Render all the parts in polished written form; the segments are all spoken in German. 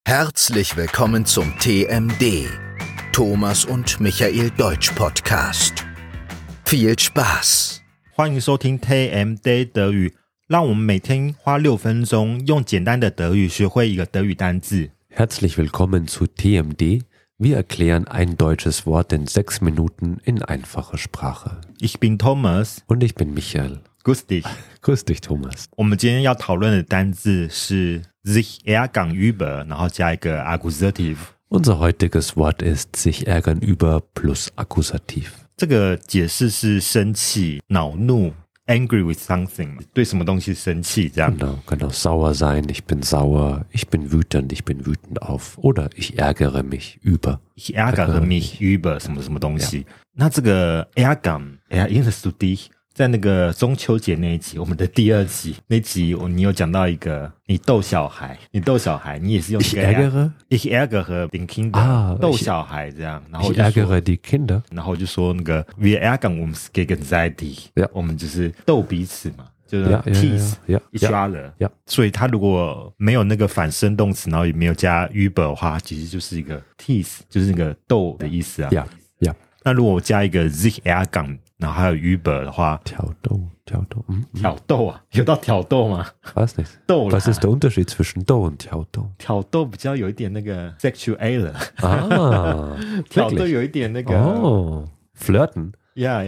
Herzlich willkommen zum TMD, Thomas und Michael Deutsch Podcast. Viel Spaß! 歡迎收聽 TMD 德語，讓我們每天花6分鐘，用簡單的德語學會一個德語單字。 Herzlich willkommen zu TMD. Wir erklären ein deutsches Wort in 6 Minuten in einfacher Sprache. Ich bin Thomas. Und ich bin Michael. Grüß dich. Grüß dich, Thomas. 我們今天要討論的單字是 sich ärgern über， 然後加一個 Accusative。 Unser heutiges Wort ist sich ärgern über plus Akkusativ. 這個解釋是生氣、惱怒 angry with something， 對什麼東西生氣這樣。 Genau, kann auch sauer sein, ich bin sauer, ich bin wütend auf. Oder ich ärgere mich über. Ich ärgere mich über 什麼什麼東西。Yeah. 那這個 ärgern，erinnerst du dich？在那個中秋節那一集，我們的第2集那集，你有講到一個你逗小孩，你也是用這個 Ich ärgere den Kinder， 逗小孩這樣，然後 ich ärgere die Kinder， 然後就說那個 Wir ärgern uns gegenseitig， 我們就是逗彼此嘛，就是 tease each other， 所以他如果沒有那個反身動詞，然後也沒有加 über 的話，其實就是一個 tease， 就是那個逗的意思啊。那如果我加一個 sich ärgern， 然後還有 über 的話， 挑逗啊， 有到挑逗嗎？ Was nicht? 逗啦。 Was ist der Unterschied zwischen 逗und 挑逗？ 挑逗比較有一點那個 sexual 啊， 挑逗有一點那個哦 flirten。 Yeah.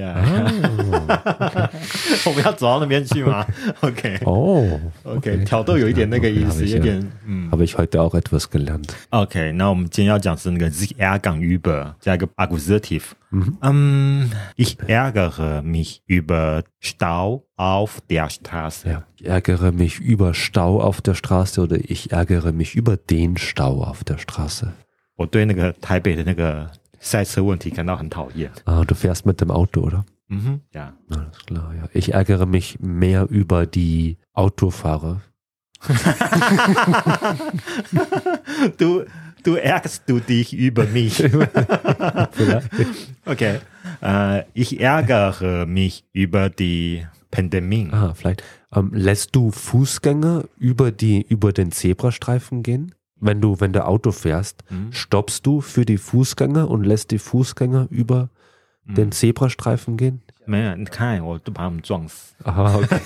Okay. 我們要走到那邊去嗎 ？OK， 挑逗有一點那個意思，有點 Habe ich heute auch etwas gelernt. OK， 那我們今天要講是那個 sich ärgern über 加一個 Accusative。Ich ärgere mich über Stau auf der Straße. Ja, ich ärgere mich über Stau auf der Straße oder ich ärgere mich über den Stau auf der Straße. 我對那個台北的那個賽車問題感到很討厭。 Du fährst mit dem Auto, oder? Ja. Alles klar, ja. Ich ärgere mich mehr über die Autofahrer. Du ärgerst du dich über mich. Okay. Ich ärgere mich über die Pandemie. Vielleicht. Lässt du Fußgänger über den Zebrastreifen gehen? Wenn du Auto fährst, stoppst du für die Fußgänger und lässt die Fußgänger über den Zebrastreifen gehen? 沒有，你看我都把他們撞死。 Okay.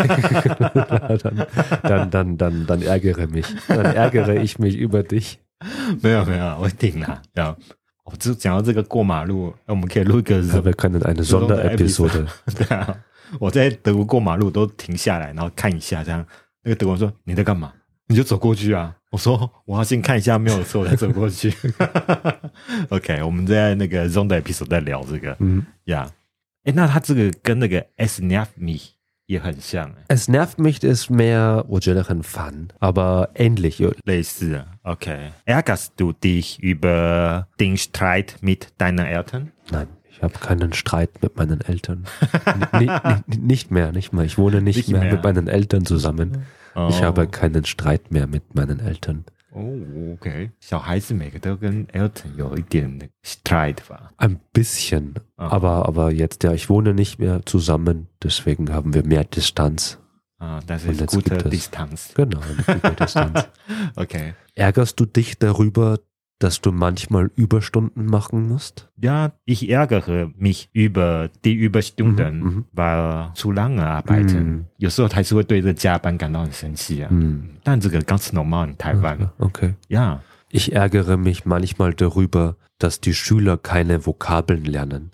dann ärgere ich mich über dich. 沒有，我頂啦。我就講到這個過馬路，我們可以錄一個。 Wir können eine Sonderepisode。 對啊，我在德國過馬路都停下來，然後看一下，這樣那個德國人說你在幹嘛？你就走過去啊。我說我要先看一下沒有錯，我再走過去。OK， 我們在那個 Sonderepisode 在聊這個。那它這個跟那個 Es nervt mich 也很像。 Es nervt mich ist mehr， 我覺得很煩 aber ähnlich 類似。OK， Ärgerst du dich über den Streit mit deinen Eltern? Nein, ich habe keinen Streit mit meinen Eltern. nicht mehr. Ich wohne nicht mehr mit meinen Eltern zusammen. Ich habe keinen Streit mehr mit meinen Eltern. OK， 小孩子每個都跟 Eltern 有一點 Streit 吧？ Ein bisschen, aber jetzt ich wohne nicht mehr zusammen, deswegen haben wir mehr Distanz. Das ist gute Distanz. Genau, eine gute Distanz. Okay. Ärgerst du dich darüber, dass du manchmal Überstunden machen musst? Ja, ich ärgere mich über die Überstunden, weil zu lange arbeiten. 有時候還是會對這個加班感到很生氣啊。但這個ganz normal in Taiwan. Okay. Ja. Ich ärgere mich manchmal darüber, dass die Schüler keine Vokabeln lernen.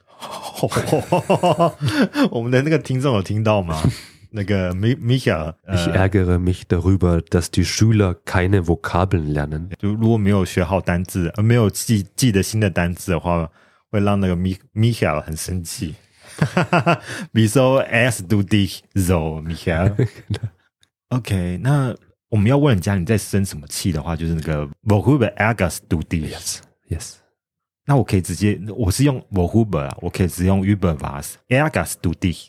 我們的那個聽眾有聽到嗎？那個 Michael， Ich ärgere mich darüber, dass die Schüler keine Vokabeln lernen. 就如果沒有學好單字，沒有記得新的單字的話，會讓那個 Michael 很生氣。Wieso ärgerst du dich so, Michael? OK， 那我們要問人家你在生什麼氣的話，就是那個 Worüber ärgerst du dich? Yes. 那我可以直接，我是用 Worüber 啊，我可以直接用 über was ärgerst du dich?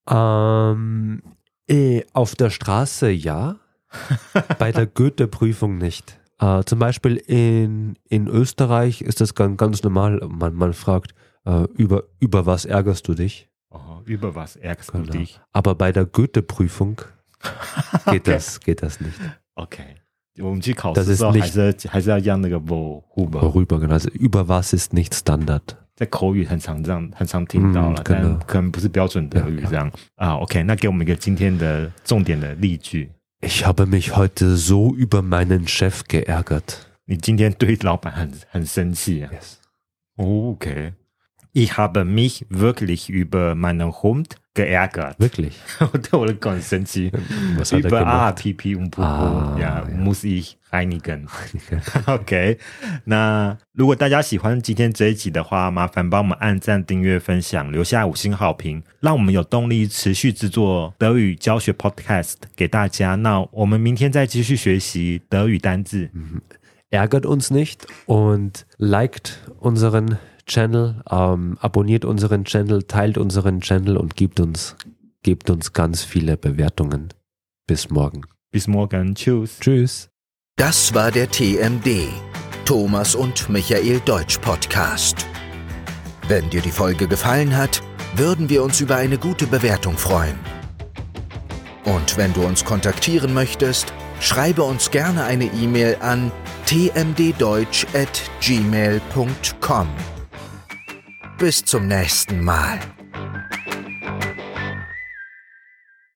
Auf der Straße ja, bei der Goethe-Prüfung nicht. Zum Beispiel in Österreich ist das ganz normal, man fragt, über was ärgerst du dich? Über was ärgerst du dich? Aber bei der Goethe-Prüfung geht das nicht. Okay. 我們去考試的時候還是要講那個worüber， genau， also über was ist nicht Standard。 在口語很常聽到了，但可能不是標準德語這樣啊。OK， 那給我們一個今天的重點的例句。 Ich habe mich heute so über meinen Chef geärgert。 你今天對老闆很生氣啊。 Yes. OK。Ich habe mich wirklich über meinen Hund geärgert. Wirklich? 對我的狗很生氣。Über A, P, P und P, ja, muss ich reinigen. OK， 那如果大家喜歡今天這一集的話，麻煩幫我們按讚、訂閱、分享，留下5星好評，讓我們有動力持續製作德語教學 Podcast 給大家。那我們明天再繼續學習德語單字。 Ärgert uns nicht und liked unseren Channel, abonniert unseren Channel, teilt unseren Channel und gebt uns ganz viele Bewertungen. Bis morgen. Bis morgen. Tschüss. Tschüss. Das war der TMD, Thomas und Michael Deutsch Podcast. Wenn dir die Folge gefallen hat, würden wir uns über eine gute Bewertung freuen. Und wenn du uns kontaktieren möchtest, schreibe uns gerne eine E-Mail an tmddeutsch@gmail.com. Bis zum nächsten Mal.